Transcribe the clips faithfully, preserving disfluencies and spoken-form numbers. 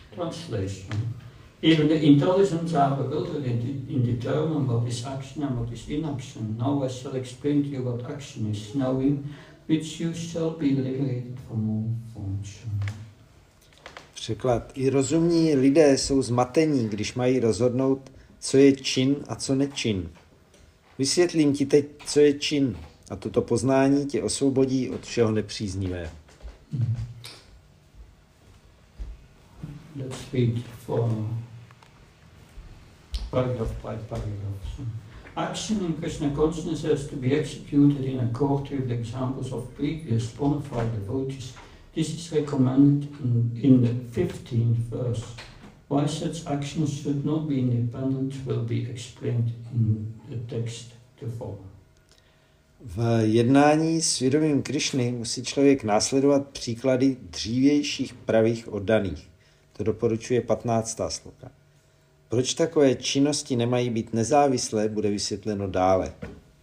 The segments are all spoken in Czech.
translation. Even the intelligence are bewildered in, in determining what is action and what is inaction. Now I shall explain to you what action is, knowing which you shall be liberated from all function. Překlad. I rozumní lidé jsou zmatení, když mají rozhodnout, co je čin a co nečin. Vysvětlím ti teď, co je čin, a toto poznání tě osvobodí od všeho nepříznivého. Let's read for paragraph by paragraph. Action in Krishna consciousness has to be executed in accord with the examples of previous bona fide devotees. This is recommended in, in the fifteenth verse. Why such actions should not be independent will be explained in the text to follow. V jednání s vědomím Krišny musí člověk následovat příklady dřívějších pravých oddaných. To doporučuje patnáctá sloka. Proč takové činnosti nemají být nezávislé, bude vysvětleno dále.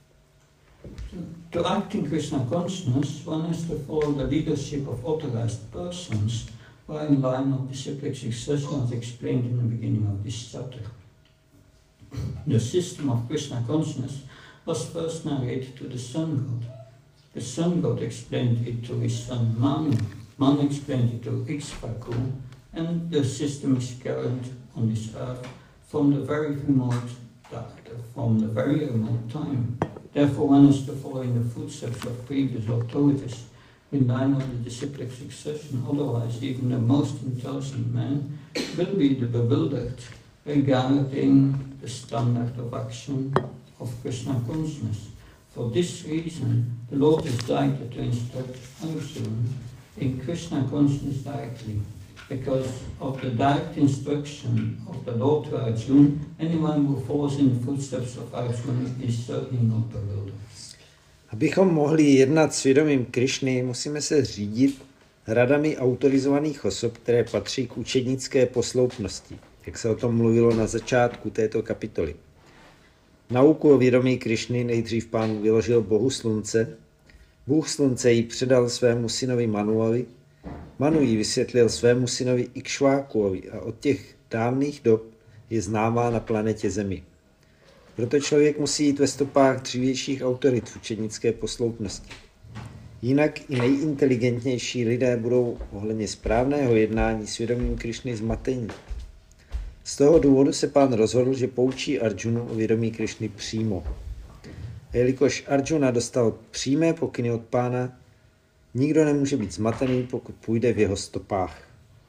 To act in Krishna consciousness, one has to follow the leadership of authorized persons, while in line of disciplic succession as explained in the beginning of this chapter. The system of Krishna consciousness was first narrated to the sun god. The sun god explained it to his son Manu. Manu explained it to Ikshvaku, and the system is carried on this earth from the very remote, from the very remote time. Therefore, one is to follow in the footsteps of previous authorities in line of the disciplic succession. Otherwise, even the most intelligent man will be bewildered regarding the standard of action of Krishna consciousness. For this reason, the Lord is directed to instruct Arjuna in Krishna consciousness directly. Because of the direct instruction of the Lord to Arjuna, anyone who follows in the footsteps of Arjuna is certainly not bewildered. Abychom mohli jednat s vědomím Krišny, musíme se řídit radami autorizovaných osob, které patří k učednické posloupnosti, jak se o tom mluvilo na začátku této kapitoly. Nauku o vědomí Krišny nejdřív pán vyložil Bohu slunce, Bůh slunce ji předal svému synovi Manuovi, Manu ji vysvětlil svému synovi Ikšvákuovi a od těch dávných dob je známá na planetě Zemi. Proto člověk musí jít ve stopách dřívějších autorit v učednické posloupnosti. Jinak i nejinteligentnější lidé budou ohledně správného jednání s vědomím Krišny zmatení. Z toho důvodu se pán rozhodl, že poučí Arjunu o vědomí Krišny přímo. A jelikož Arjuna dostal přímé pokyny od pána, nikdo nemůže být zmatený, pokud půjde v jeho stopách.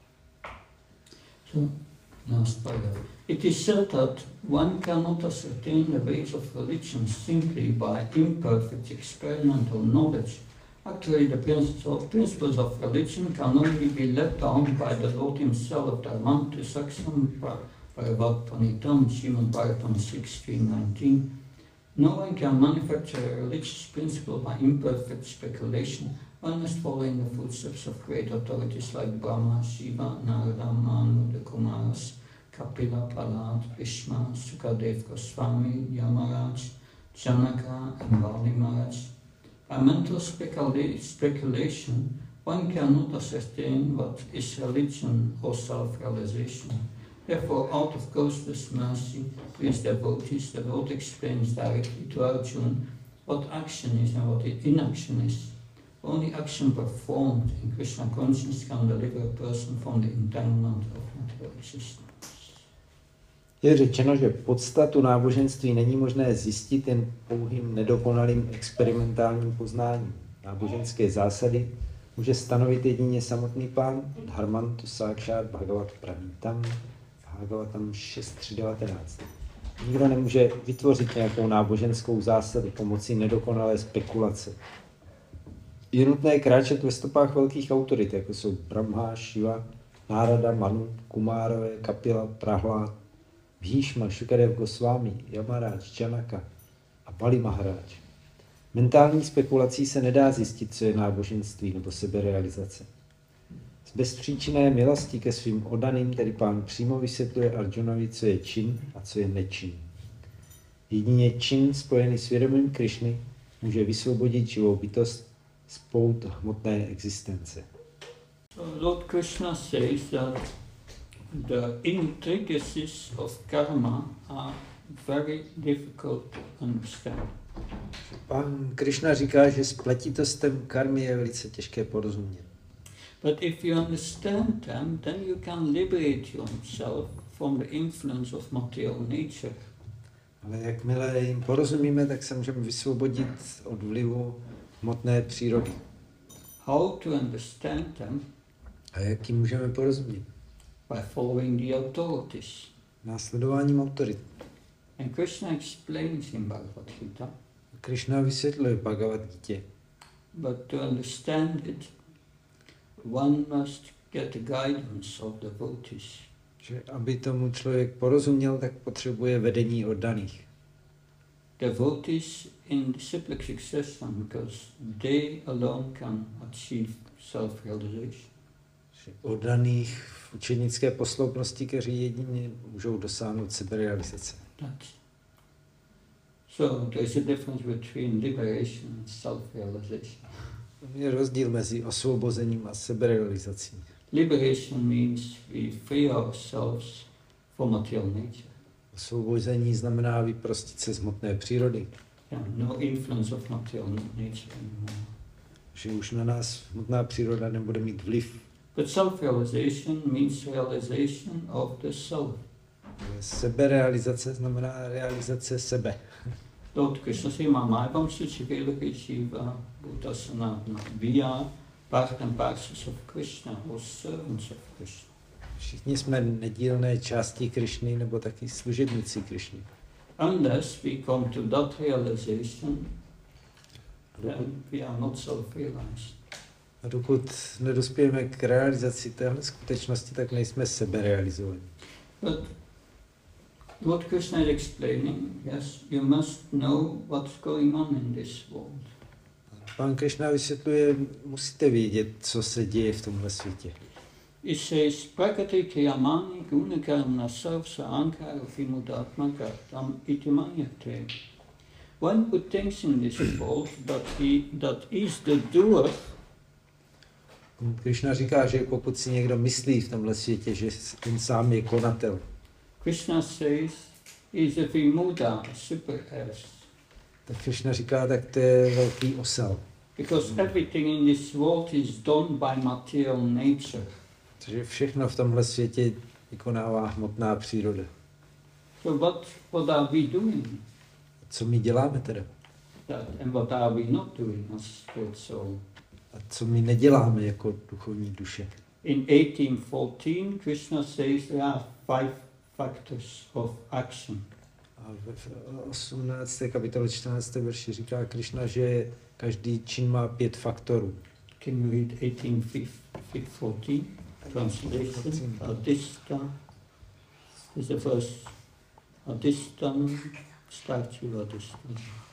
So, last paragraph. It is said that one cannot ascertain the ways of religion simply by imperfect experimental knowledge. Actually, the principles of religion can only be let down by the Lord himself. Dharmantu Saksam Paravatpanitam Srimad Bhagavatam six three nineteen. No one can manufacture a religious principle by imperfect speculation. One must follow in the footsteps of great authorities like Brahma, Shiva, Narada, Manu, the Kumaras, Kapila, Prahlad, Bhishma, Sukadev Goswami, Yamaraj, Janaka, and Vali Maharaj. By mental specula speculation, one cannot ascertain what is religion or self-realization. Therefore, out of Goswa's mercy to his devotees, the Lord explains directly to Arjuna what action is and what inaction is. Only action performed in Krishna consciousness can deliver a person from the entanglement of material existence. Je řečeno, že podstatu náboženství není možné zjistit jen pouhým nedokonalým experimentálním poznáním. Náboženské zásady může stanovit jedině samotný pán, Dharmantu Sákšát Bhagavat Pravítam, Bhagavatam šest tři devatenáct. Nikdo nemůže vytvořit nějakou náboženskou zásadu pomocí nedokonalé spekulace. Je nutné kráčet ve stopách velkých autorit, jako jsou Brahma, Shiva, Nárada, Manu, Kumárové, Kapila, Prahlad, Bhishma, Šukadev Goswami, Yamaraj, Janaka a Bali Maharaj. Mentální spekulací se nedá zjistit, co je náboženství nebo seberealizace. Z bezpříčinné milosti ke svým oddaným tedy pán přímo vysvětluje Arjunovi, co je čin a co je nečin. Jedině čin spojený s vědomím Krišny může vysvobodit živou bytost z pout hmotné existence. So Lord Krishna says that the intricacies of karma are very difficult to understand. Pán Krishna říká, že spletitostem karmy je velice těžké porozumět. But if you understand them, then you can liberate yourself from the influence of material nature. Ale jakmile jim porozumíme, tak se můžeme vysvobodit od vlivu hmotné přírody. How to understand them? A jak jim můžeme porozumět? By following the authorities. Následováním autorit. And Krishna explains in Bhagavad Gita. Krishna vysvětluje v Bhagavad Gita. But to understand it, one must get the guidance of the devotees. Že aby tomu člověk porozuměl, tak potřebuje vedení oddaných. Devotees in disciplic succession, because they alone can achieve self-realization. Oddaných v učenické posloupnosti, kteří jedině můžou dosáhnout seberealizace. That's. So there is a difference between liberation and self-realization. Je rozdíl mezi osvobozením a seberealizací. Liberation means we free ourselves from material nature. Osvobození znamená vyprostit se z hmotné přírody. Yeah, no influence of material nature anymore. Že už na nás hmotná příroda nebude mít vliv. But self-realization means realization of the self. Seberealizace znamená realizace sebe. Lord Krishna say, Mamavam Suchivela Shiva Bhutasana We are part and parcels of Krishna, or servants of Krishna. Všichni jsme nedílné části Krišny nebo taky služebníci Krišny. Unless we come to that realization, then we are not self-realized. A dokud nedospějeme k realizaci téhle skutečnosti, tak nejsme seberealizovaní. But what Krishna is explaining, yes, you must know what's going on in this world. Pán Krishna vysvětluje, musíte vědět, co se děje v tomhle světě. It says, Prakriti Kiyamani Gunakarna Sarvsa Ankara Vimudatmaka Tam Itimanyate. One who thinks in this world that he that is the doer. Krishna říká, že pokud si někdo myslí v tomhle světě, že on sám je konatel. Krishna says, is a Vimuda, a super S. Tak Krishna říká, tak to je velký osel. Because everything in this world is done by material nature. Takže všechno v tomhle světě vykonává hmotná příroda. So what, what are we doing? Co my děláme teda? That, and what are we not doing as spirit soul? A co my neděláme jako duchovní duše? In eighteen fourteen, Krishna says there are five factors of action. A v osmnácté kapitole čtrnáctém verši říká Krishna, že každý čin má pět faktorů. Can you read eighteen fourteen? Translation. Adista is the first. Adistam starts with Adistam.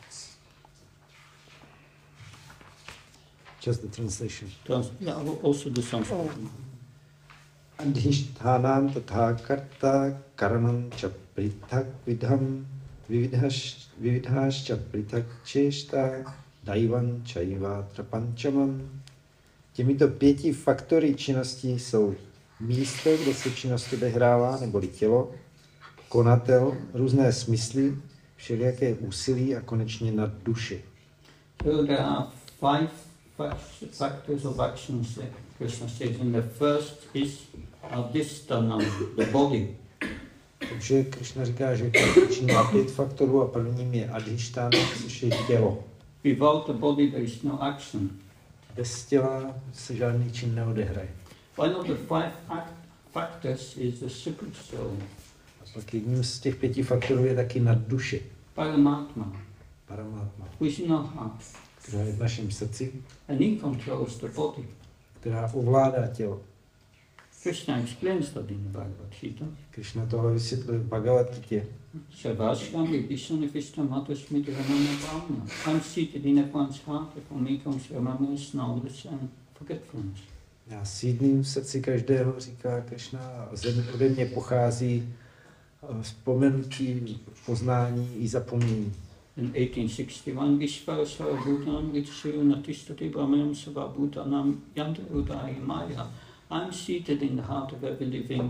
Just the translation. Trans yeah, also the Sanskrit. Adhisthānam tatha karta karman cha prithak vidham vividhāscha prithak cheshta daivan chaiva trapanchamam. Těmito pěti faktory činnosti jsou místo, kde se činnost odehrává, neboli tělo, konatel, různé smysly, všelijaké úsilí a konečně nad duši. So there are five factors of actions that Krishna says, and the first is adhistanam, the body. Takže Krishna říká, že každý čin má pět faktorů a prvním je adhisthana, což je tělo. Without the body there is no action. Bez těla se žádný čin neodehraje. One of the five factors is the super soul. A pak jedním z těch pěti faktorů je taky nad duše. Paramatma. Paramatma. Who is in our heart. Která je v našem srdci. And he controls the body. Která ovládá tělo. Krishna explains that in the Bhagavad Gita. Krishna tohle vysvětluje v Bhagavad Gita. Sarvashram vibhishanivishtam matasmiti ramana bhavana. I'm seated in one's heart, from me comes remembrance, knowledge and forgetfulness. Já sídlím v srdci každého, říká Krishna, a ode mě pochází vzpomenutí, poznání i zapomnění. In eighteen sixty-one, Vishvara Sarvabhutanam Ritushayo Natistati Brahmanam Sarvabhutanam Yantarudaya Maya. I'm seated in the heart of every living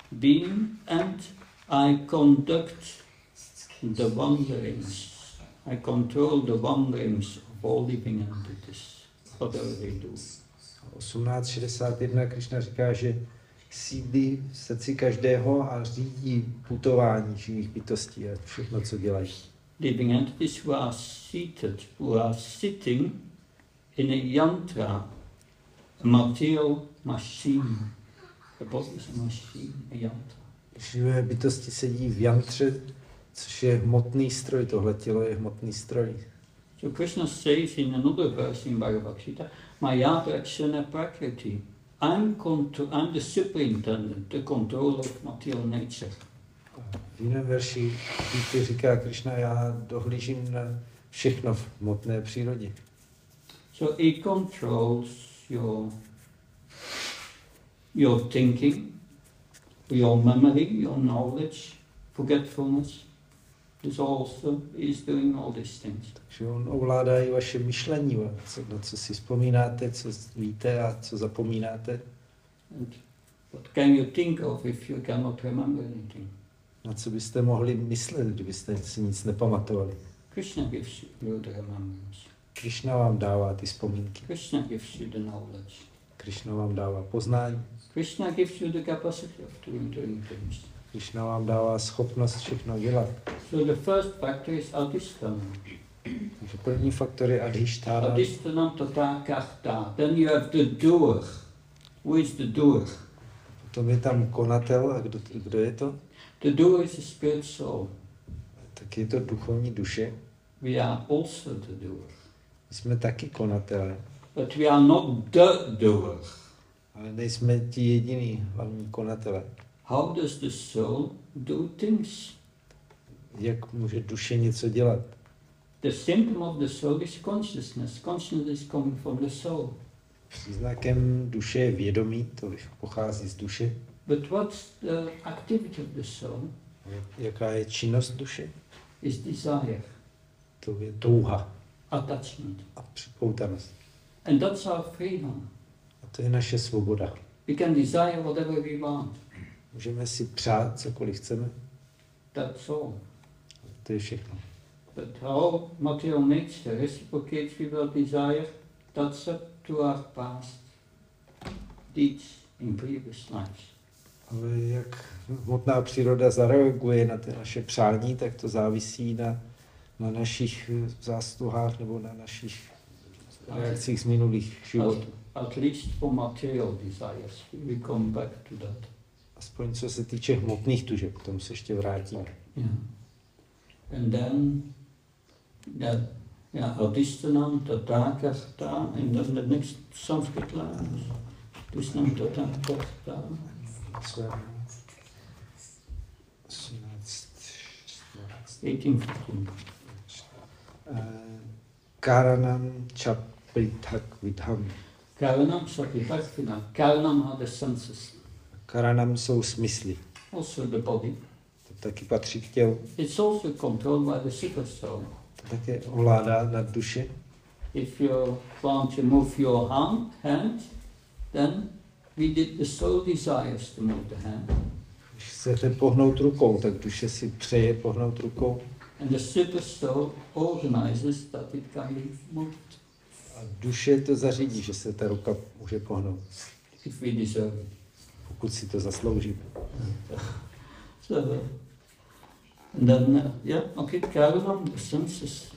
being, and I conduct the wanderings. I control the wanderings of all living entities, whatever they do. osmnáct šedesát jedna Krišna říká, že sídlí v srdci každého a řídí putování živých bytostí a všechno, co dělají. Living entities who are seated, who are sitting in a yantra, a material machine. The body is a machine, a yantra. Živé bytosti sedí v jantře, což je hmotný stroj, tohle tělo je hmotný stroj. So Krishna says in another verse in Bhagavad Gita, Maya Prakshana Prakriti. I'm, contro- I'm the superintendent, the controller of material nature. V jiném verši Gita říká Krishna, já dohlížím na všechno v hmotné přírodě. So he controls your, your thinking, your memory, your knowledge, forgetfulness. This also is doing all these things. Takže on ovládá i vaše myšlení, co, na co si vzpomínáte, co víte a co zapomínáte. And what can you think of if you cannot remember anything? Na co byste mohli myslet, kdybyste si nic nepamatovali. Krishna gives you the remembrance. Krishna vám dává ty vzpomínky. Krishna gives you the knowledge. Krishna vám dává poznání. Krishna gives you the capacity of doing, doing things. Krishna vám dává schopnost všechno dělat. So the first factor is adhisthana. Takže první faktor je adhištána. Adhisthana tata karta. Then you have the doer. Who is the doer? Potom je tam konatel. A kdo, kdo je to? The doer is a spirit soul. Tak je to duchovní duše. We are also the doer. My jsme taky konatelé. But we are not the doer. Ale nejsme ti jediný hlavní konatele. How does the soul do things? Jak může duše něco dělat? The symptom of the soul is consciousness. Consciousness is coming from the soul. Příznakem duše je vědomí, to pochází z duše. But what's the activity of the soul? Jaká je činnost duše? Is desire, To je touha attachment. a připoutanost. And that's our freedom. A to je naše svoboda. We can desire whatever we want. Můžeme si přát cokoliv chceme. That's all. To je všechno. But how material nature reciprocates with our desire, that's up to our past deeds in previous lives. Ale jak hmotná příroda zareaguje na ty naše přání, tak to závisí na, na našich zásluhách nebo na našich reakcích z minulých životů. At, at least for material desires, we come back to that. Aspoň co se týče hmotných tužeb, k tomu se ještě vrátíme. Yeah. And then, that, yeah, adhisthana, tata karta, and then the next Sanskrit line, adhisthana, tata karta. eighteen fifteen. Karanam chapritak vidham. Karanam sapitakvina. Karanam are the senses. Karanam jsou smysly. Also the body. To taky patří k tělu. It's also controlled by the super soul. To také ovládá nad duše. If you want to move your hand, hand, then we did the soul desires to move the hand. Když chcete pohnout rukou, tak duše si přeje pohnout rukou. And the super soul organizes that it can be moved. A duše to zařídí, že se ta ruka může pohnout. If we deserve it. Pokud si to zaslouží. So, and then, uh, yeah, okay, Karanam, the senses.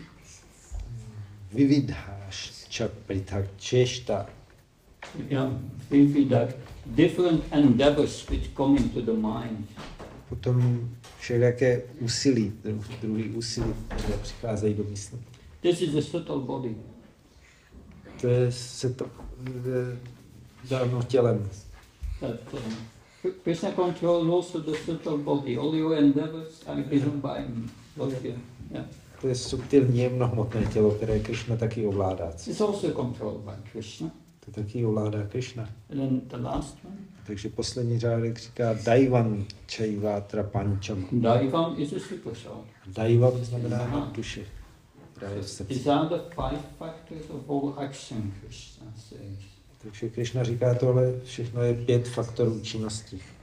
Vividháš chapritak češta. Yeah, we feel that different endeavors which come into the mind. Potom všelijaké úsilí, druhý úsilí, které přicházejí do mysli. This is a subtle body. To je se to dáno tělem. That uh, Krishna controls also the subtle body. All your endeavors are given by him. Yeah. To je subtilní jemnohmotné tělo, které Krishna taky ovládá. It's also controlled by Krishna. To taky ovládá Krishna. And then the last one. Takže poslední řádek říká Daivan Chaivatra Pancham. Daivam is a super soul. Daivam znamená duše, která je v srdci. These are the five factors of all action, Krishna says. Takže Krishna říká tohle, všechno je pět faktorů činnosti.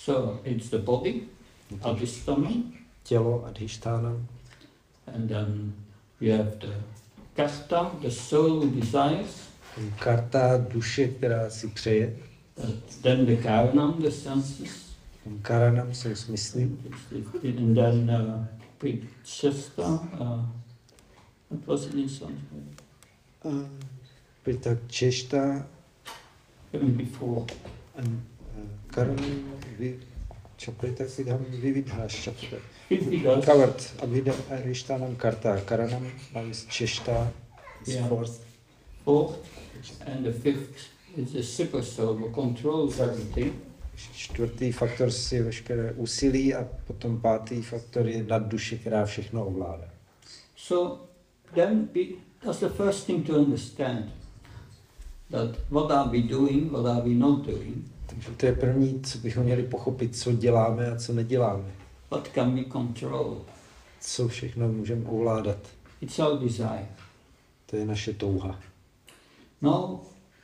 So it's the body, adhisthana, tělo adhišthánam, and then we have the karta, the soul who desires, karta, duše, která si přeje, uh, then the karanam, the senses, karanam jsou smysly, and then uh, Pritchesta, uh, what was it in Sanskrit? uh, Pritak Češta, Even before. Karanam, Čapritak Vidham, Vividháš, Čapritak. Vividhas. Covered, Adhišthánam karta, Karanam, now is Češta, is Yeah. fourth. Fourth, and the fifth is the super soul who controls everything. Čtvrtý faktor je veškeré úsilí a potom pátý faktor je nad duši, která všechno ovládá. So then we, that's the first thing to understand, that what are we doing, what are we not doing, Takže to je první, co bychom měli pochopit, co děláme a co neděláme. what can we control. Co všechno můžeme ovládat. It's our desire. To je naše touha. Now,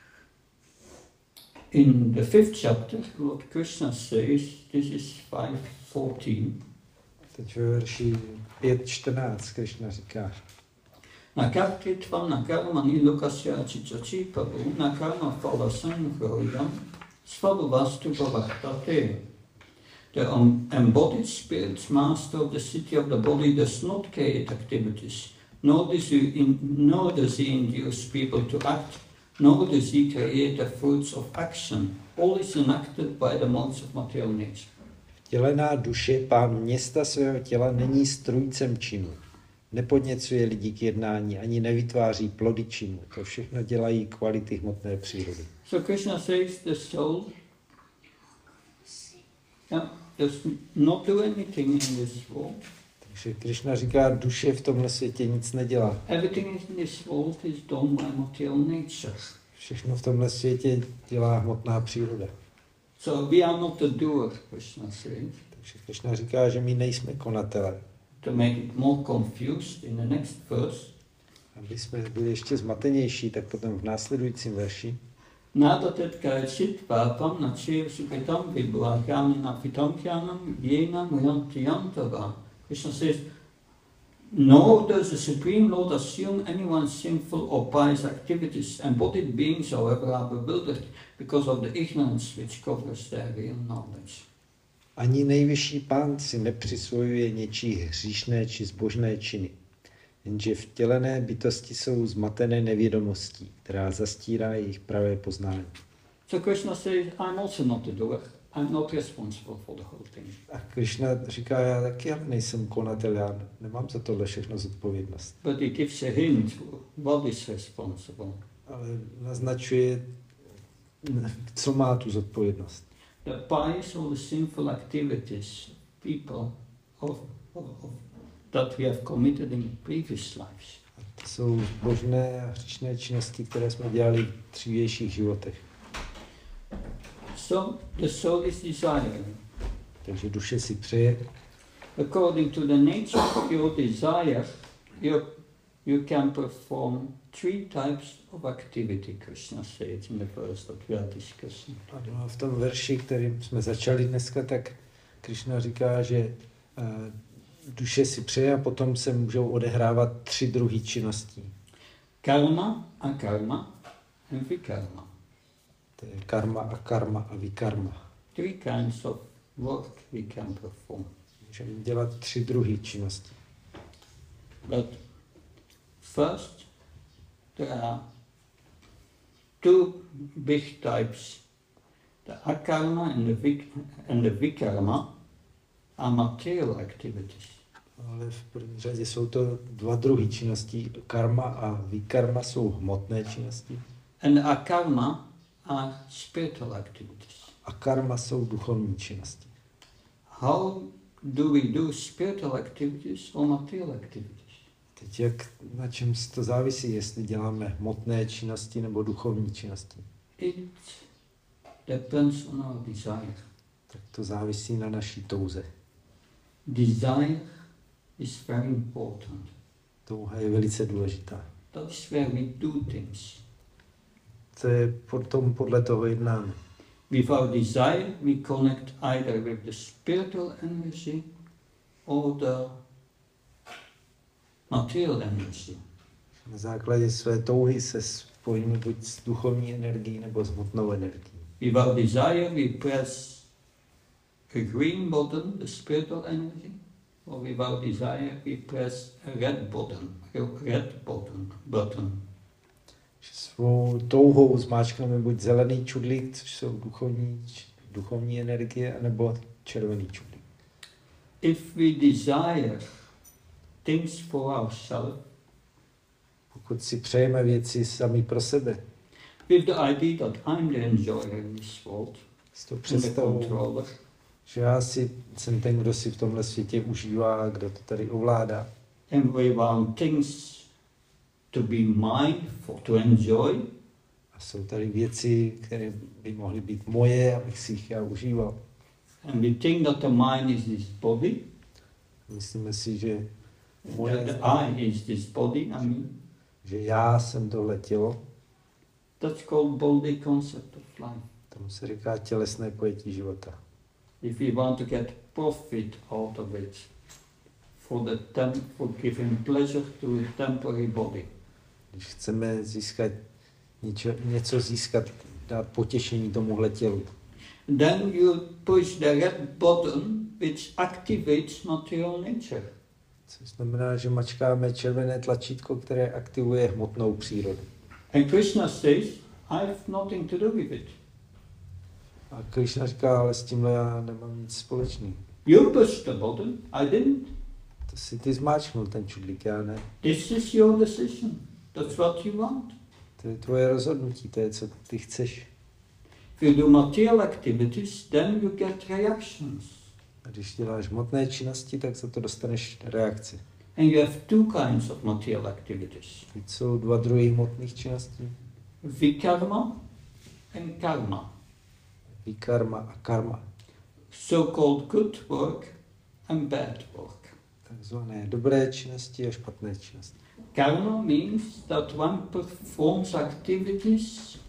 in the fifth chapter, Lord Krishna says, this is five fourteen, Teď ve verši pět čtrnáct Krishna říká, Nakartitvam nakarma nilokasya chichachi pavu nakarma phala sanghroyam svabhavastu bhavartate. The um, embodied spirit master of the city of the body does not create activities, nor does he, in, nor does he induce people to act, nor does he create the fruits of action. All is enacted by the modes of material nature. Vtělená duše, pán města svého těla, není strůjcem činu. Nepodněcuje lidi k jednání, ani nevytváří plody činu. To všechno dělají kvality hmotné přírody. So Krishna says the soul yeah, does not do anything in this world. Takže Krishna říká, duše v tomhle světě nic nedělá. Everything in this world is done by material nature. Všechno v tomhle světě dělá hmotná příroda. So we are not the doer, Krishna says. Takže Krishna říká, že my nejsme konatelé. To make it more confused, in the next verse, Aby jsme byli ještě zmatenější, tak potom v následujícím verši Nadatet kajčit pápam na čir supitam vibhakami na pitamkyanam jena muyantiyantava. Krishna says, nor does the Supreme Lord assume anyone's sinful or pious activities. Embodied beings, however, are bewildered because of the ignorance which covers their real knowledge. ani nejvyšší pán si nepřisvojuje něčí hříšné či zbožné činy. Jenže vtělené bytosti jsou zmatené nevědomostí, která zastírá jejich pravé poznání. So Krishna says, I'm also not the doer. I'm not responsible for the whole thing. A Krishna říká, já taky ale nejsem konatel, já nemám za tohle všechno zodpovědnost. But he gives a hint what is responsible. Ale naznačuje, co má tu zodpovědnost. The pious or the sinful activities, people of, of, of, that we have committed in previous lives. A to jsou božné a hříšné činnosti, které jsme dělali v dřívějších životech. So the soul is desiring. Takže duše si přeje. According to the nature of your desire, you, you can perform three types of activity, Krishna says in the verse that we are discussing. A v tom verši, kterým jsme začali dneska, tak Krishna říká, že uh, duše si přeje a potom se můžou odehrávat tři druhy činností. Karma, akarma, and vikarma. To je karma, akarma a vikarma. Three kinds of work we can perform. Můžeme dělat tři druhy činností. But first, there are two big types. The akarma and the, vik and the vikarma are material activities. Ale v první řadě jsou to dva druhy činností. Karma a vikarma jsou hmotné činnosti. And akarma are spiritual activities. A karma jsou duchovní činnosti. How do we do spiritual activities or material activities? Teď jak, na čem to závisí, jestli děláme hmotné činnosti nebo duchovní činnosti? It depends on our desire. Tak to závisí na naší touze. Desire is very important. Touha je velice důležitá. That's where we do things. To je potom podle toho jednáme. Without desire, we connect either with the spiritual energy or the material energy. Na základě své touhy se spojíme buď s duchovní energií nebo s hmotnou energií. Without desire, we press a green button, the spiritual energy, or without desire, we press a red button, a red button, button. Svou touhou zmáčkneme buď zelený čudlík, což jsou duchovní, duchovní energie, anebo červený čudlík. If we desire things for ourselves, Pokud si přejeme věci sami pro sebe, with the idea that I'm the enjoyer in this world, s tou and the představou, controller, že já si, jsem ten, kdo si v tomhle světě užívá, kdo to tady ovládá. and we want things to be mine for to enjoy, A jsou tady věci, které by mohly být moje, abych si jich já užíval. and we think that the mind is this body, Myslíme si, že that moje, the I is this body, I mean, že já jsem tohle tělo, that's called body concept of life. tomu se říká tělesné pojetí života. If we want to get profit out of it, for the tem- for giving pleasure to a temporary body. Když chceme získat něco, něco získat, dát potěšení tomuhle tělu, Then you push the red button which activates material nature. což znamená, že mačkáme červené tlačítko, které aktivuje hmotnou přírodu. And Krishna says, I have nothing to do with it. A Krishna říká, ale s tímhle já nemám nic společného. You pushed the button, I didn't. To si ty zmáčknul ten čudlík, já ne. This is your decision. That's what you want. To je tvoje rozhodnutí, to je, co ty chceš. If you do material activities, then you get reactions. A když děláš hmotné činnosti, tak za to dostaneš reakci. And you have two kinds of material activities. Teď jsou dva druhy hmotných činností. Vikarma and karma. Vikarma a karma. So-called good work and bad work. Takzvané dobré činnosti a špatné činnosti. Karma means that one performs activities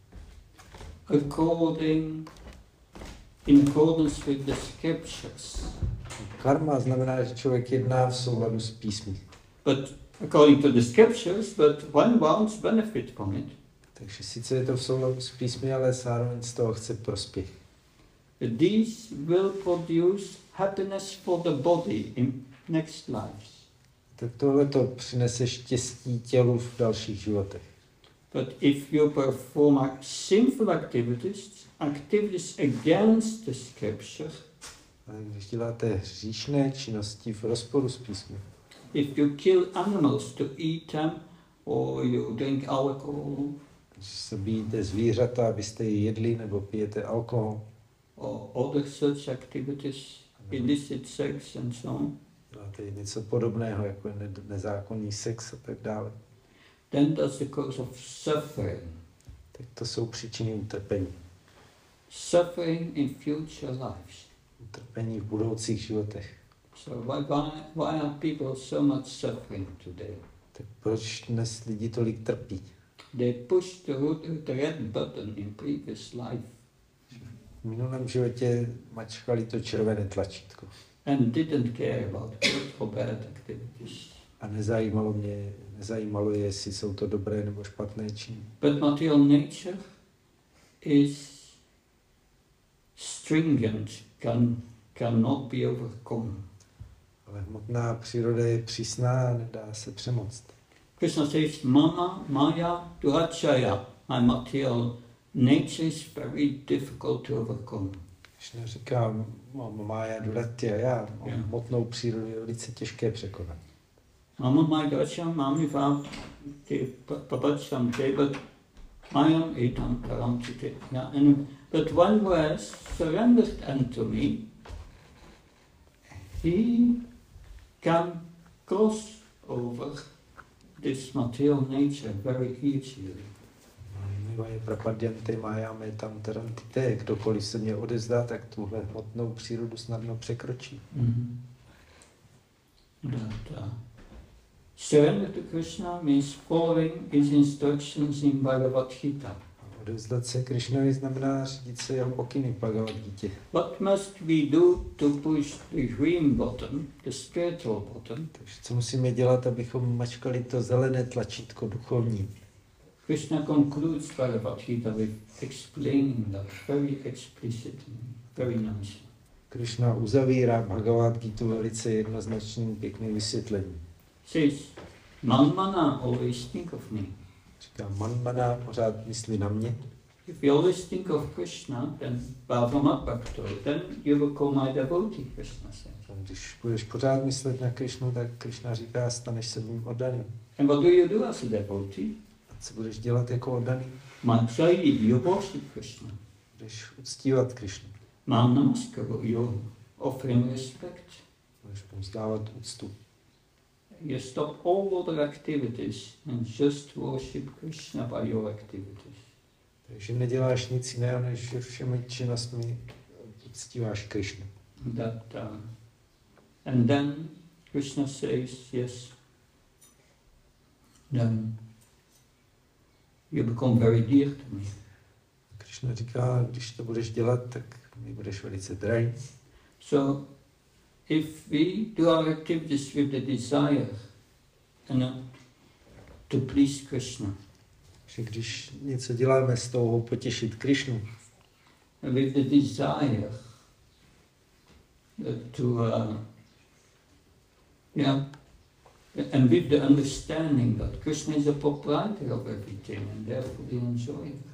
according, in accordance with the scriptures. Karma znamená, že člověk jedná v souladu s písmy. But according to the scriptures, but one wants benefit from it. Takže sice je to v souladu s písmy, ale zároveň z toho chce prospěch. These will produce happiness for the body in next lives. Tak tohle to přinese štěstí tělu v dalších životech. But if you perform ac- sinful activities, activities against the scripture, Ale když děláte hříšné činnosti v rozporu s písmy, if you kill animals to eat them, or you drink alcohol, když zabíjíte zvířata, abyste je jedli, nebo pijete alkohol, or other such activities, illicit sex and so on, děláte něco podobného, jako je ne- nezákonný sex a tak dále, then that's the cause of suffering. tak to jsou příčiny utrpení. Suffering in future lives. Utrpení v budoucích životech. So why, why, why are people so much suffering today? Tak proč dnes lidi tolik trpí? They pushed the, ro- the red button in previous life V minulém životě mačkali to červené tlačítko and didn't care about good or bad activities. a nezajímalo mě, nezajímalo je, jestli jsou to dobré nebo špatné činy. But material nature is stringent, can, cannot be overcome. Ale hmotná příroda je přísná a nedá se přemoct. Krishna says, Mama, Maya, Durachaya, my material nature is very difficult to overcome. Když neříká Mája Duratya, já mám Yeah. hmotnou přírodu, je velice těžké překonat. Mama, Maya, Durachaya, Mami, Vav, Papacham, but Mayam, Etam, Karam, Chite. Yeah, and but one who has surrendered unto me, he can cross over this material nature very easily. Mivaje prapadyanty májáme tam tarantité, kdokoliv se mě odezdá, tak tuhle hmotnou přírodu snadno překročí. Mm-hmm. That, uh, surrender to Krishna means following his instructions in Bhagavad Gita. Odevzdat se Krišnovi znamená řídit se jeho pokyny v Bhagavad Gítě. What must we do to push the green button, the spiritual button? Takže co musíme dělat, abychom mačkali to zelené tlačítko duchovní? Krishna concludes Bhagavad Gita with explaining that very explicitly, very nicely. Krišna uzavírá Bhagavad Gitu velice jednoznačným, pěkným vysvětlením. Says, Manmana, always think of me. Říká, Manmana, pořád myslí na mě. If you always think of Krishna, then Bhavama Bhakto, then you will become my devotee, Krishna says. Když budeš pořád myslet na Krišnu, tak Krišna říká, staneš se mým oddaným. And what do you do as a devotee? A co budeš dělat jako oddaný? Mantrayi, you worship Krishna. Budeš uctívat Krišnu. Man namaskaru, you offer him respect. Budeš mu vzdávat úctu. You stop all other activities and just worship Krishna by your activities. Takže neděláš nic jiného, než že všemi činnostmi uctíváš Krišnu. That, uh, and then Krishna says, yes, then you become very dear to me. Krišna říká, když to budeš dělat, tak mi budeš velice drahý. So, if we do our activities with the desire and not to please Krishna, Že když něco děláme s touhou potěšit Krišnu, with the desire to, uh, yeah, and with the understanding that Krishna is the proprietor of everything and therefore we enjoy it.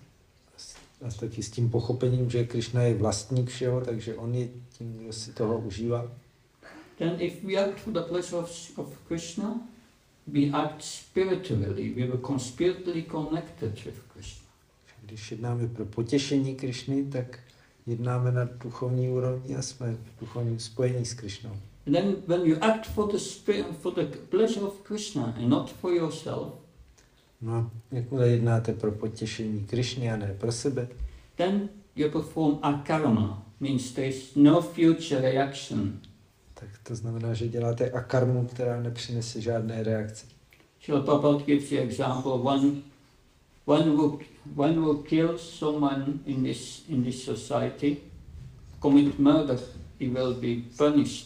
a taky s tím pochopením, že Krišna je vlastník všeho, takže on je tím, kdo si toho užívá. Then if we act for the pleasure of, of Krishna, we act spiritually, we become spiritually connected with Krishna. Když jednáme pro potěšení Krišny, tak jednáme na duchovní úrovni a jsme v duchovním spojení s Krišnou. And then when you act for the spirit, for the pleasure of Krishna and not for yourself, No a jakmile jednáte pro potěšení Krišny a ne pro sebe, then you perform akarma, means there is no future reaction. tak to znamená, že děláte akarmu, která nepřinese žádné reakce. Srila Prabhupada gives the example, one, one, who, one who kills someone in this, in this society, commit murder, he will be punished.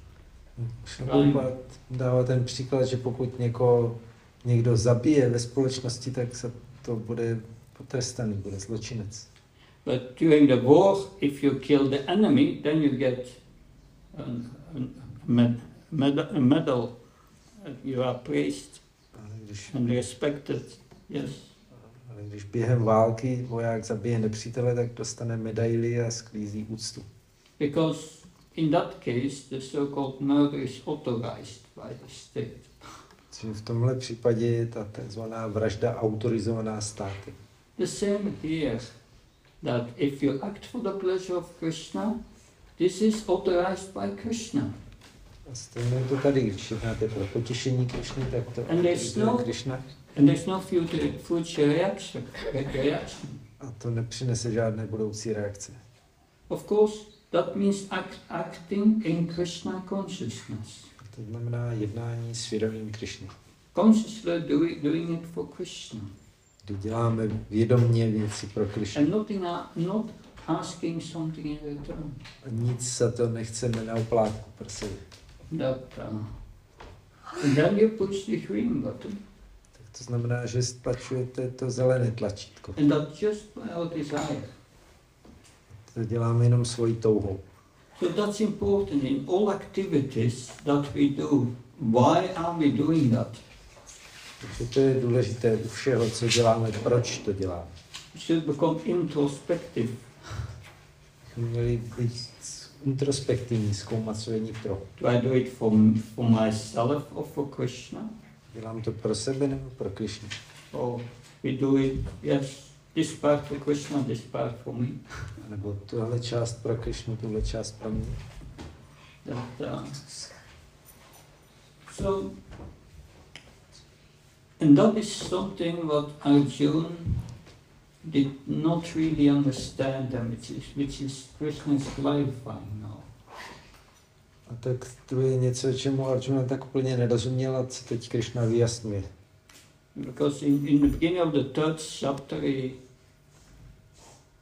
Prabhupada dává ten příklad, že pokud někoho, někdo zabije ve společnosti, tak se to bude potrestaný, bude zločinec. But during the war, if you kill the enemy, then you get a, a, med, med, a medal. You are praised Ale když, and respected. Yes. ale když během války voják zabije nepřítele, tak dostane medaili a sklízí úctu. Because in that case, the so-called murder is authorized by the state. Čili v tomhle případě je ta tzv. Vražda autorizovaná státy. The same here, that if you act for the pleasure of Krishna, this is authorized by Krishna. A stejně je to tady, když jednáte pro potěšení Krišny, tak to And there's autorizuje no- Krišna. And there's no future, future reaction, reaction. A to nepřinese žádné budoucí reakce. Of course, that means act, acting in Krishna consciousness. A to znamená jednání s vědomím Krišny. Consciously doing, doing it for Krishna. Kdy děláme vědomně věci pro Krišnu. And not, in a, not asking something in return. A nic za to nechceme na oplátku pro sebe. That, uh, and then you push the green button. Tak to znamená, že stlačujete to zelené tlačítko. And that just by our desire. To děláme jenom svojí touhou. So that's important in all activities that we do. Why are we doing that? Takže to je důležité u všeho, co děláme, proč to děláme. We should become introspective. Bychom měli být introspektivní, zkoumat, co je nitro. Do I do it for, for myself or for Krishna? Dělám to pro sebe nebo pro Krišnu? Or we do it, yes, this part for Krishna, this part for me. Nebo tuhle část pro Krišnu, tuhle část pro mě. That, uh, so, and that is something what Arjuna did not really understand, and which is, which is Krishna is clarifying now. A tak to je něco, čemu Arjuna tak úplně nerozuměl a co teď Krišna vyjasňuje. Because in, in the beginning of the third chapter, he,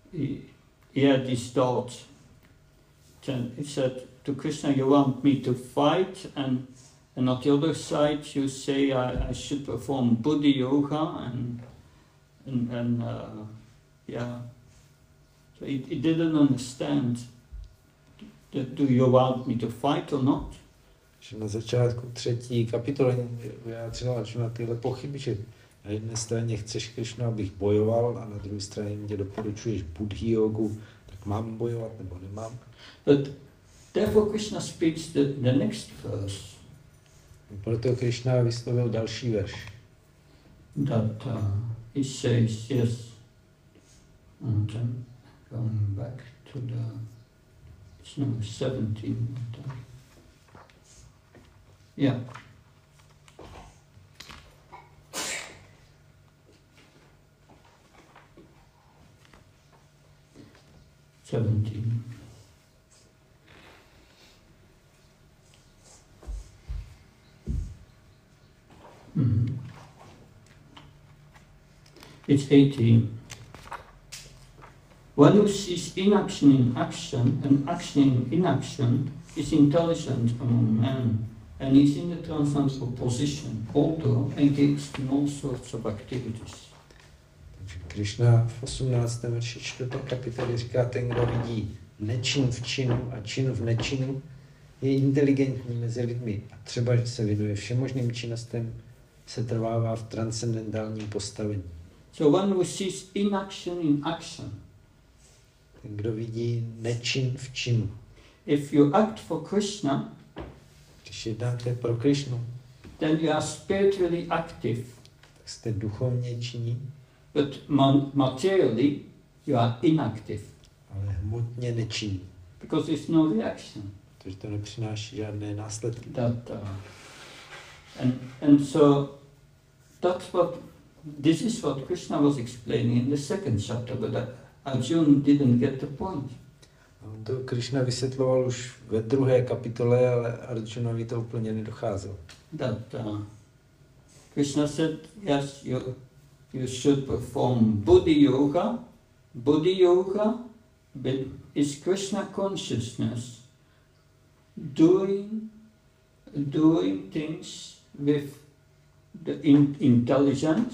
he, he had this thought. Then he said to Krishna, you want me to fight, and, and on the other side you say I, I should perform Buddhi Yoga, and, and, and uh, yeah. So he, he didn't understand, that, do you want me to fight or not? Že na začátku třetí kapitoly vyjádřila Arjuna tyhle pochyby, že na jedné straně chceš, Krishna, abych bojoval, a na druhé straně mě doporučuješ Buddhi jogu, tak mám bojovat nebo nemám. But therefore Krishna speaks the, the next verse. Proto Krishna vyslovil další verš. That uh, he says, yes, and then going back to the, it's number seventeen. Uh, yeah. Seventeen. Mm-hmm. It's eighteen. One who sees inaction in action and action in inaction is intelligent among men, and is in the transcendental position, although engaged in all sorts of activities. Krishna v osmnáctém verši čtvrté kapitoly říká, ten, kdo vidí nečin v činu a čin v nečinu, je inteligentní mezi lidmi a třeba, že se věnuje všemožným činnostem, se trvává v transcendentálním postavení. So one who sees inaction in action. Ten, kdo vidí nečin v činu. If you act for Krishna, když jednáte pro Krishnu, then you are spiritually active. Tak jste duchovně činní. But materially, you are inactive. Ale hmotně nečinní. Because there's no reaction. Protože to nepřináší žádné následky. That, uh, and, and so, that's what, this is what Krishna was explaining in the second chapter, but Arjuna didn't get the point. On to Krishna vysvětloval už ve druhé kapitole, ale Arjunovi to úplně nedocházelo. That uh, Krishna said, yes, you, you should perform Buddhi Yoga. Buddhi Yoga is Krishna consciousness doing, doing things with the in, intelligence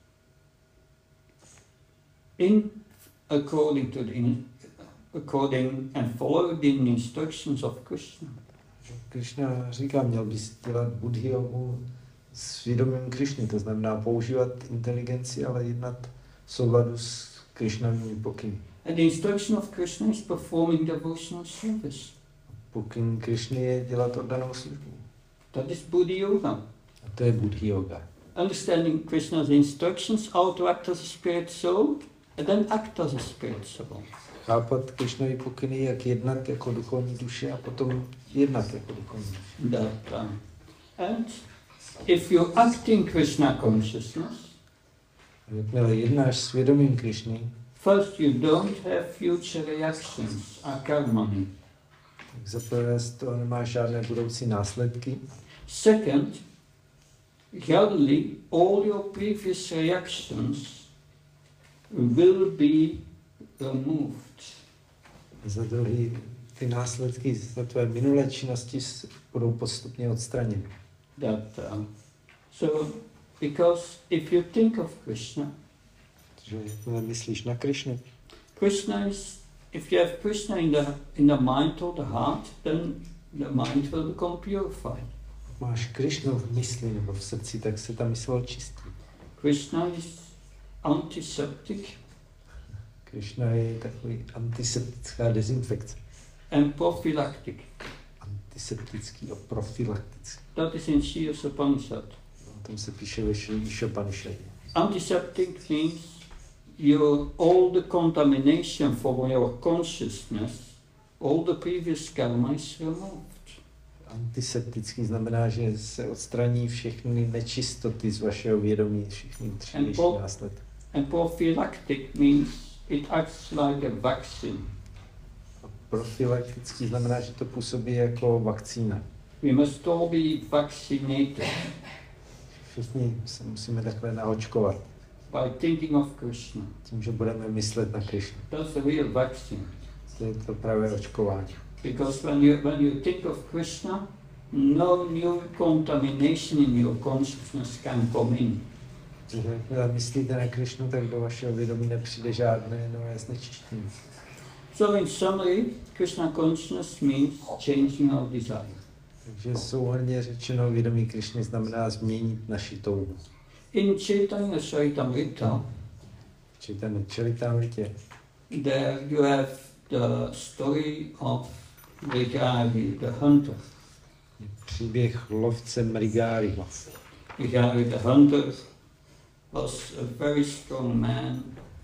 in according to the in, according and following the instructions of Krishna. Krishna říká, měl bys dělat Buddhi jogu s vědomím Krishny, to znamená používat inteligenci, ale jednat v souladu s Krishnovými pokyny. And the instruction of Krishna is performing devotional service. Pokyn Krishny je dělat oddanou službu. That is Buddhi Yoga. A to je Buddhi yoga. Understanding Krishna's instructions, how to act as a spirit soul, and then act as a spirit soul. Chápat Krishnovy pokyny, jak jednat jako duchovní duše a potom jednat jako duchovní duše. That, um, and if you act in Krishna consciousness, jakmile jednáš s vědomím Krishny, first you don't have future reactions, akarmani. Tak za prvé z toho nemáš žádné budoucí následky. Second, gradually all your previous reactions will be removed. Za druhý, ty následky za tvé minulé činnosti budou postupně odstraněny. That, uh, so, because if you think of Krishna, že jakmile myslíš na Krishnu, Krishna is, if you have Krishna in the in the mind or the heart, then the mind will become purified. Máš Krishnu v mysli nebo v srdci, tak se ta mysl očistí. Krishna is antiseptic. Krishna je takový antiseptická dezinfekce. And prophylactic. Antiseptický a profylaktický. That is in Shias Upanishad. O tom se píše ve Šopanishadě. Antiseptic means your all the contamination from your consciousness, all the previous karma is removed. Antiseptický znamená, že se odstraní všechny nečistoty z vašeho vědomí, všechny dřívější následky. And prophylactic means it acts like a vaccine. Profylaktický znamená, že to působí jako vakcína. We must all be vaccinated. Všichni se musíme takhle naočkovat. by thinking of Krishna. Tím, že budeme myslet na Krishnu. That's the real vaccine. To je to pravé očkování. Because when you, when you think of Krishna, no new contamination in your consciousness can come in. Když myslíte na Krishnu, tak do vašeho vědomí nepřijde žádné nové znečištění. So in summary, Krishna consciousness means changing our desire. Takže souhrnně řečeno, vědomí Krishny znamená změnit naši touhu. In Chaitanya Charitamrita, Chaitanya Charitamritě, there you have the story of Mrigari, the hunter. Příběh lovce Mrigáriho. Mrigari, the hunter, was a very strong man.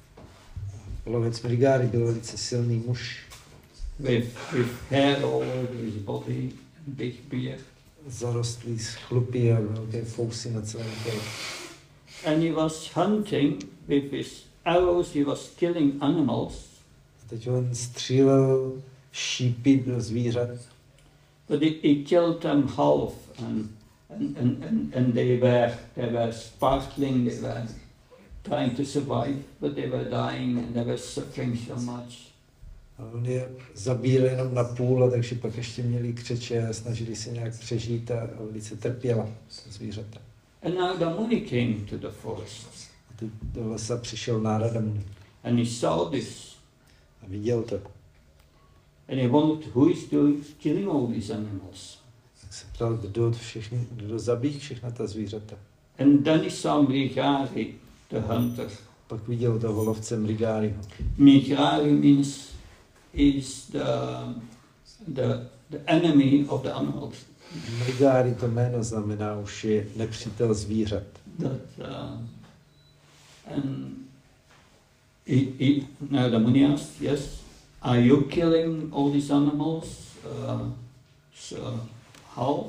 Lovec Mrigári byl velice silný muž. With, with hair all over his body, big beard. Zarostlý z chlupy a velké fousy na celém těle. And he was hunting with his arrows, he was killing animals. Teď on střílel šípy do zvířat. But he, he killed them half, and, and, and, and, and they were they were sparkling, they were trying to survive, but they were dying and they were suffering so much. A on je zabíjel jenom na půl, a takže pak ještě měli křeče a snažili se nějak přežít a velice trpěla zvířata. And Narada Muni came to the forest. A teď do lesa přišel Narada Muni. And he saw this. A viděl to. And he wondered who is doing killing all these animals. Tak se ptal, kdo, všechny, kdo zabíjí všechna ta zvířata. And then he saw Mrigari, the hunter. Pak viděl toho lovce Mrigáriho. Mrigari means is the, the, the enemy of the animals. Mrigári, to jméno znamená už je nepřítel zvířat. That, uh, and he, he, Narada Muni asked, yes, are you killing all these animals? Uh, so, how?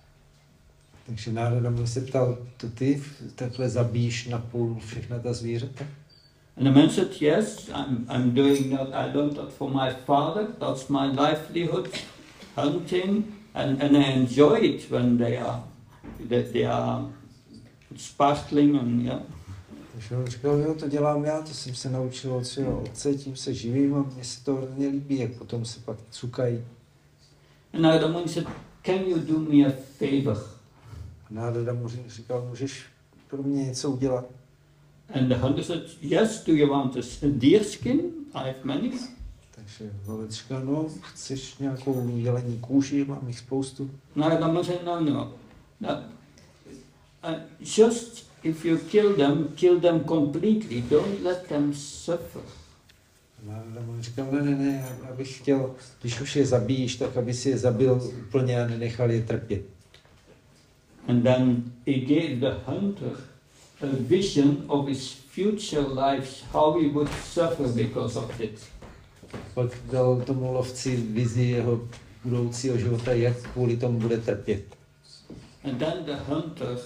Takže Narada Muni se ptal, to ty takhle zabíjíš na půl všechna ta zvířata? And the man said, yes, I'm, I'm doing that. I learned that for my father. That's my livelihood, hunting, and, and I enjoy it when they are, that they are sparkling and yeah. Takže on říkal, jo, to dělám já, to jsem se naučil od svého otce, tím se živím a mně se to hrozně líbí, jak potom se pak cukají. And Narada Muni said, can you do me a favor? A Narada mu říkal, můžeš pro mě něco udělat? And the hunter said, yes, do you want a deer skin? I have many. Takže lovec říkal, no, chceš nějakou jelení kůži, mám jich spoustu. Narada Muni said, no, no. no. Uh, just if you kill them, kill them completely. Don't let them suffer. Narada mu říkal, ne, ne, ne, abych chtěl, když už je zabíjíš, tak aby si je zabil úplně a nenechal je trpět. And then he gave the hunter a vision of his future lives, how he would suffer because of it. Pak dal tomu lovci vizi jeho budoucího života, jak kvůli tomu bude trpět. And then the hunter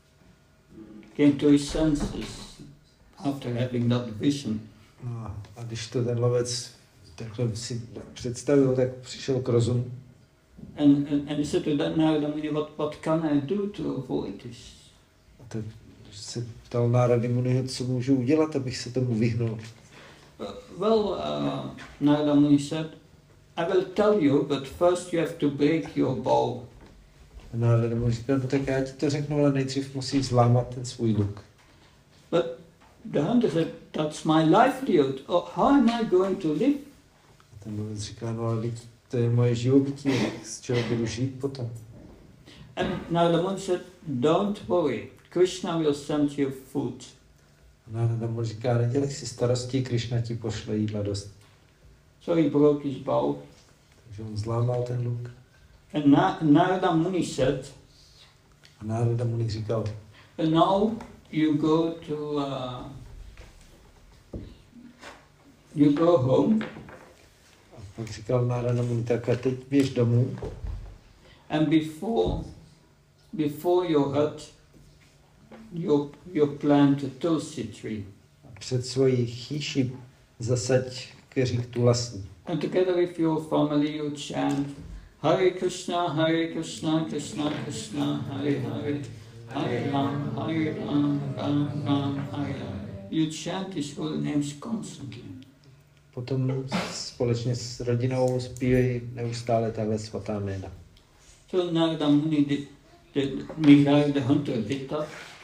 came to his senses after having that vision. No, a když to ten lovec takhle si představil, tak přišel k rozumu. And, and, and he said to that Narada Muni, what, what can I do to avoid this? A tak se ptal Narada Muniho, co můžu udělat, abych se tomu vyhnul. Uh, well, uh, Narada Muni said, I will tell you, but first you have to break your bow. A Narada mu říkal, no tak já ti to řeknu, ale nejdřív musíš zlámat ten svůj luk. But the hunter said, that's my livelihood. Oh, how am I going to live? A ten lovec říkal, no ale to je moje živobytí, z čeho budu žít potom. And Narada Muni said, don't worry, Krishna will send you food. A Narada mu říká, nedělej si starosti, Krishna ti pošle jídla dost. So he broke his bow. Takže on zlámal ten luk. And Na- Narada Muni said, A Narada Muni říkal, and now you go to, uh, you go home. a pak říkal Narada Muni, tak a teď běž domů. And before, before your hut, you, you plant a tulsi tree. A před svojí chýši zasaď keřík tulasní. And together with your family you chant, Hare Krishna, Hare Krishna, Krishna Krishna, Hare Hare, Hare Ram, Hare Ram, Ram Ram, Hare Hare. you chant his holy names constantly. Potom společně s rodinou zpívají neustále tahle svatá jména. So Narada Muni did, did Mrigali the hunter did that.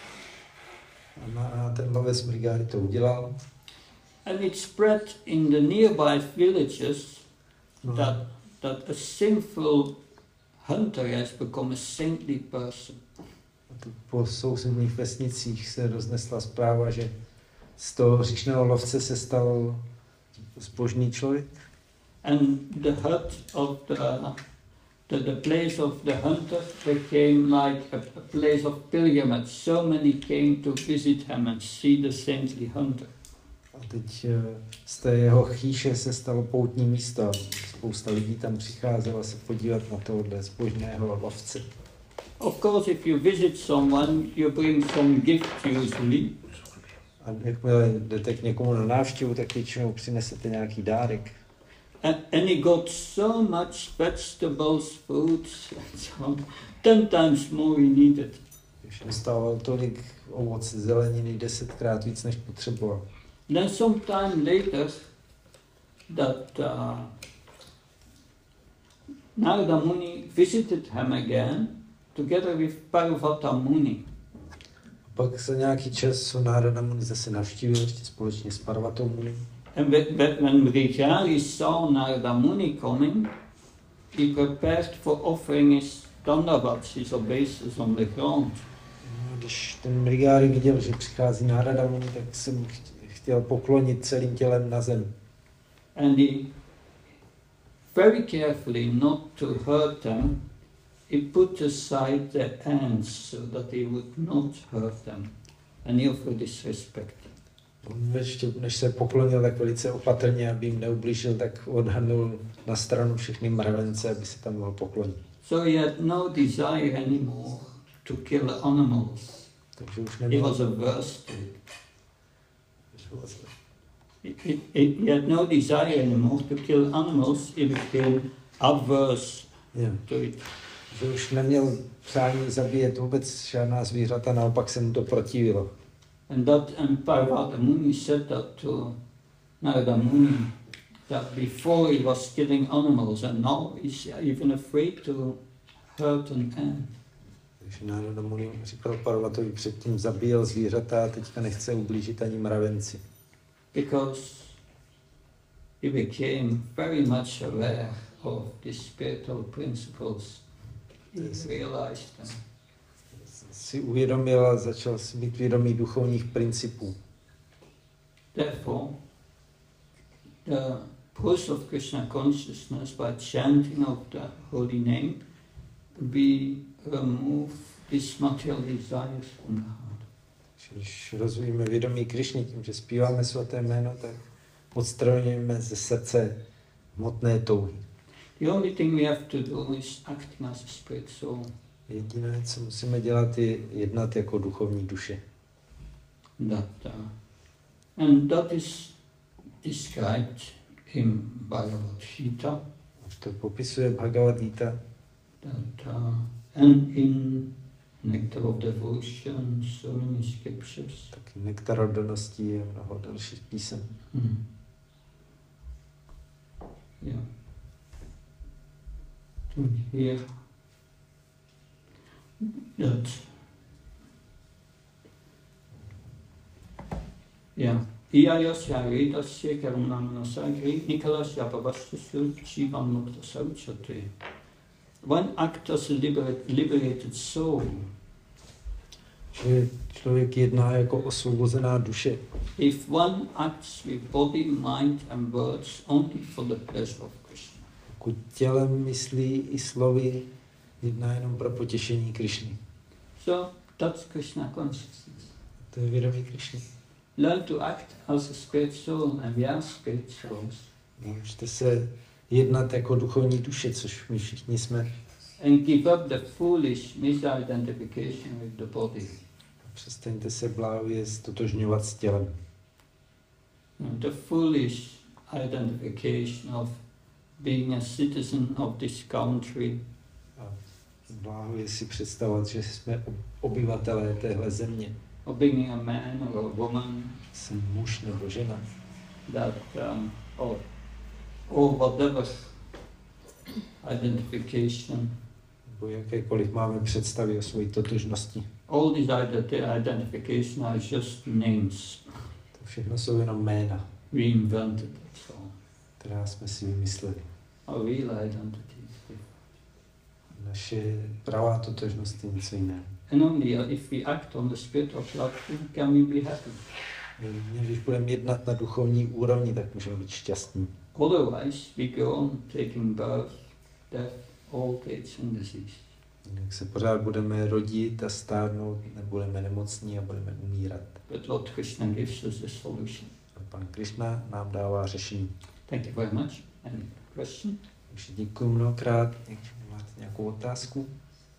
A ten lovec Mrigali to udělal. And it spread in the nearby villages No. that, that a sinful hunter has become a saintly person. A tu po sousedních vesnicích se roznesla zpráva, že z toho hříšného lovce se stal zbožný člověk. And the hut of the, the, the place of the hunter became like a, a place of pilgrimage. So many came to visit him and see the saintly hunter. A teď eh, z té jeho chýše se stalo poutní místo. Spousta lidí tam přicházela se podívat na tohohle zbožného lovce. Of course, if you visit someone, you bring some gift usually. A jakmile jdete k někomu na návštěvu, tak většinou přinesete nějaký dárek. And, and he got so much vegetables, fruits, and so on. Ten times more he needed. Když dostával tolik ovoce, zeleniny, desetkrát víc, než potřeboval. Then some time later, that uh, Narada Muni visited him again, together with Parvata Muni. A pak za nějaký čas ho Narada Muni zase navštívil, ještě společně s Parvatou Muni. And when when Mrigali saw Narada Muni coming, he prepared for offering his dandavats, his obeisances on the ground. No, když ten Mrigali viděl, že přichází Narada Muni, tak se mu chtěl poklonit celým tělem na zem. And he, very carefully not to hurt them, he put aside their hands so that he would not hurt them. And he offered his respect. On ještě, než se poklonil, tak velice opatrně, aby jim neublížil, tak odhrnul na stranu všechny mravence, aby se tam mohl poklonit. So he had no desire anymore to kill animals. Takže už He neměl... was averse to it. He, he, he had no desire anymore to kill animals. He became averse Yeah. to it. Že už neměl přání zabíjet vůbec žádná zvířata, naopak se mu to protivilo. And that and Parvata Muni said that to Narada Muni, that before he was killing animals and now he's even afraid to hurt an ant. Takže Narada Muni říkal Parvatovi, předtím zabíjel zvířata a teďka nechce ublížit ani mravenci. Because he became very much aware of the spiritual principles. He realized them. Si uvědomil a začal si být vědomý duchovních principů. Therefore, the process of Krishna consciousness by chanting of the holy name, we remove these material desires from the heart. Když rozvíjíme vědomí Krišny tím, že zpíváme svaté jméno, tak odstraňujeme ze srdce hmotné touhy. The only thing we have to do is acting as a spirit soul. Jediné, co musíme dělat, je jednat jako duchovní duše. That, uh, and that is described in Bhagavad Gita. To popisuje Bhagavad Gita. That, uh, and in Nectar of Devotion, so many scriptures. Taky Nektar oddanosti je mnoho dalších písem. Hmm. Yeah. To hear that. Yeah. Iyayasya vedasya karunamnasagri nikalasya pavastusu jivan mukta sauchate. One act as a liberate, liberated soul. Že člověk jedná jako osvobozená duše. If one acts with body, mind and words only for the pleasure of Krishna. Pokud tělem, myslí i slovy jedná jenom pro potěšení Krišny. So that's Krishna consciousness. To je vědomí Krišny. Learn to act as a spirit soul, and we are spirit souls. Naučte se jednat jako duchovní duše, což my všichni jsme. And give up the foolish misidentification with the body. Přestaňte se bláhově stotožňovat s tělem. The foolish identification of being a citizen of this country. A bláhově si představovat, že jsme obyvatelé téhle země. or being a man or a woman, jsem muž nebo žena, that um, or or whatever identification, nebo jakékoliv máme představy o své totožnosti. all these ident- identification are just names To všechno jsou jenom jména, we invented. That's all. která jsme si vymysleli. Our real identity is different. Naše pravá totožnost je něco jiného. And only if we act on the spirit of love, can we be happy. Jedině, když budeme jednat na duchovní úrovni, tak můžeme být šťastní. Otherwise, we go on taking birth, death, old age and disease. Jak se pořád budeme rodit a stárnout, nebudeme nemocní a budeme umírat. But Lord Krishna gives us the solution. A pan Krishna nám dává řešení. Thank you very much. Any question? Takže děkuji mnohokrát. Máte nějakou otázku?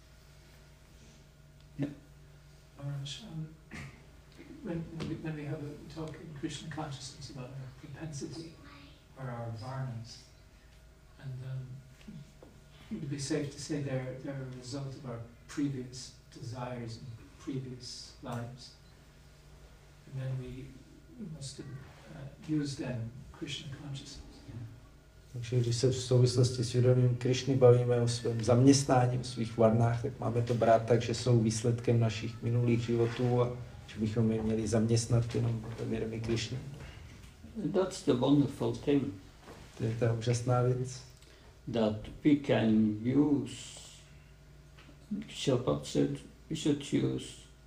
Maharaj, um, when, when, we, when we have a talk in Krishna consciousness about our propensity or our varnas, and um, it would be safe to say they're, they're a result of our previous desires and previous lives. And then we, we must uh, use them in Krishna consciousness. Takže když se v souvislosti s vědomím Krišny bavíme o svém zaměstnání, o svých varnách, tak máme to brát tak, že jsou výsledkem našich minulých životů a že bychom je měli zaměstnat jenom ve vědomí Krišny. That's the wonderful thing, To je ta úžasná věc, that we can use, Shabbat said, we should use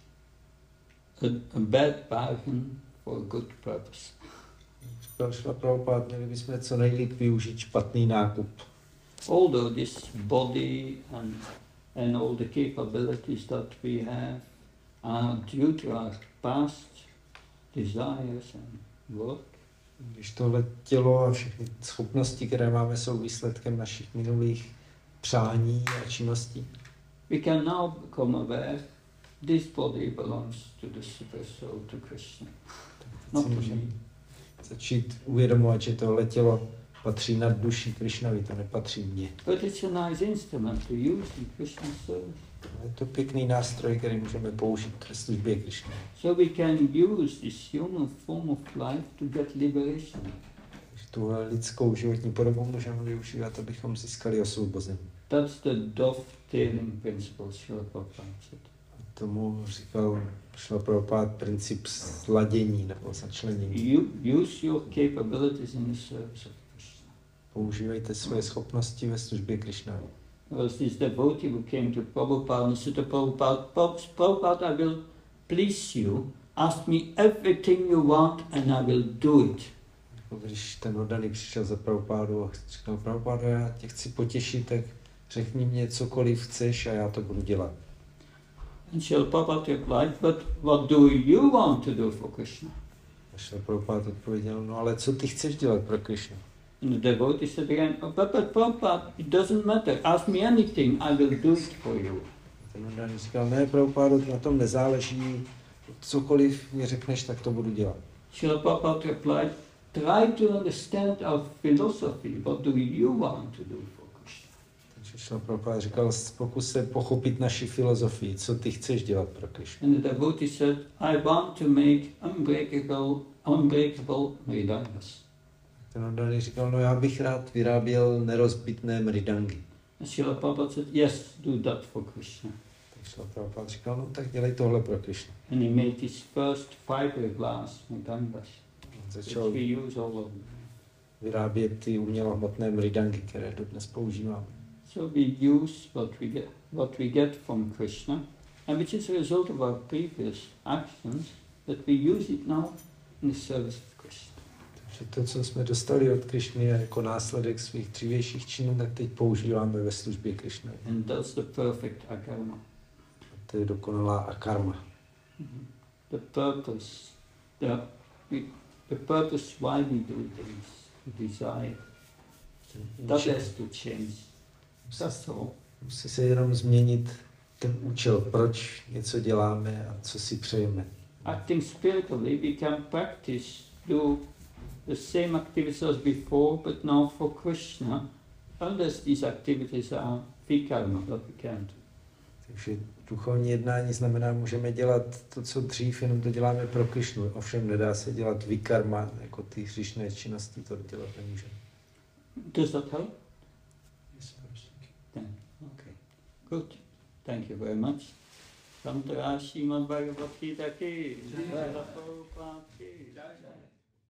a, a bad bargain for a good purpose. Říkal Šla Prabhupád, měli bychom co nejlíp využít špatný nákup. Although this body and, and all the capabilities that we have are due to our past desires and work, Když tohle tělo a všechny schopnosti, které máme, jsou výsledkem našich minulých přání a činností, we can now become aware this body belongs to the Super Soul, to Krishna, not to me. začít uvědomovat, že tohle tělo patří nad duší Krišnovi, to nepatří mně. But it's a nice instrument to use in Krishna's service. Je to pěkný nástroj, který můžeme použít ve službě Krišny. So we can use this human form of life to get liberation. Takže tuhle lidskou životní podobu můžeme využívat, abychom získali osvobození. That's the dovetailing principle Srila Prabhupada said. Tomu říkal Šla Prabhupád princip sladění nebo začlenění. You use your capabilities in the service of Krishna. Používejte své schopnosti ve službě Krišnovi. There was this devotee who came to Prabhupada and said to Prabhupada, Prabhupada, I will please you, ask me everything you want and I will do it. Když ten oddaný přišel za Prabhupádu a říkal, Prabhupádu, já tě chci potěšit, tak řekni mě cokoliv chceš a já to budu dělat. And Srila Prabhupada replied, but what do you want to do for Krishna? A Šla Prabhupád odpověděl, no ale co ty chceš dělat pro Krišnu? And the devotee said again, oh, but, but Prabhupada, it doesn't matter, ask me anything, I will do it for you. Ten oddaný říkal, ne, Prabhupádu, na tom nezáleží, cokoliv mi řekneš, tak to budu dělat. Srila Prabhupada replied, try to understand our philosophy, what do you want to do for Krishna? Takže Šla Prabhupád říkal, pokus se pochopit naši filozofii, co ty chceš dělat pro Krišnu. And the devotee said, I want to make unbreakable, unbreakable mridangas. Ten oddaný říkal, no já bych rád vyráběl nerozbitné mridangy. And Srila Prabhupada said, yes, do that for Krishna. Tak Šla Prabhupád říkal, no tak dělej tohle pro Krišnu. And he made his first fiberglass mridangas, which Začal we use all over. vyrábět ty umělohmotné mridangy, které dodnes používáme. So we use what we get, what we get from Krishna, and which is a result of our previous actions, that we use it now in the service of Krishna. Takže to, co jsme dostali od Krišny jako následek svých dřívějších činů, tak teď používáme ve službě Krišny. And that's the perfect akarma. To je dokonalá akarma. Mm-hmm. The purpose, the, we, the purpose why we do things, the desire, that has to change. That's all. Musí se jenom změnit ten účel, proč něco děláme a co si přejeme. Acting spiritually, we can practice, do the same activities as before, but now for Krishna, unless these activities are vikarma, that we can't do. Takže duchovní jednání znamená, můžeme dělat to, co dřív, jenom to děláme pro Krišnu. Ovšem nedá se dělat vikarma, jako ty hříšné činnosti, to dělat nemůžeme. Does that help? Yes, of course, thank you. Then, okay. Good. Thank you very much. Santara Srimad Bhagavad Gita ki. Jai. Jai.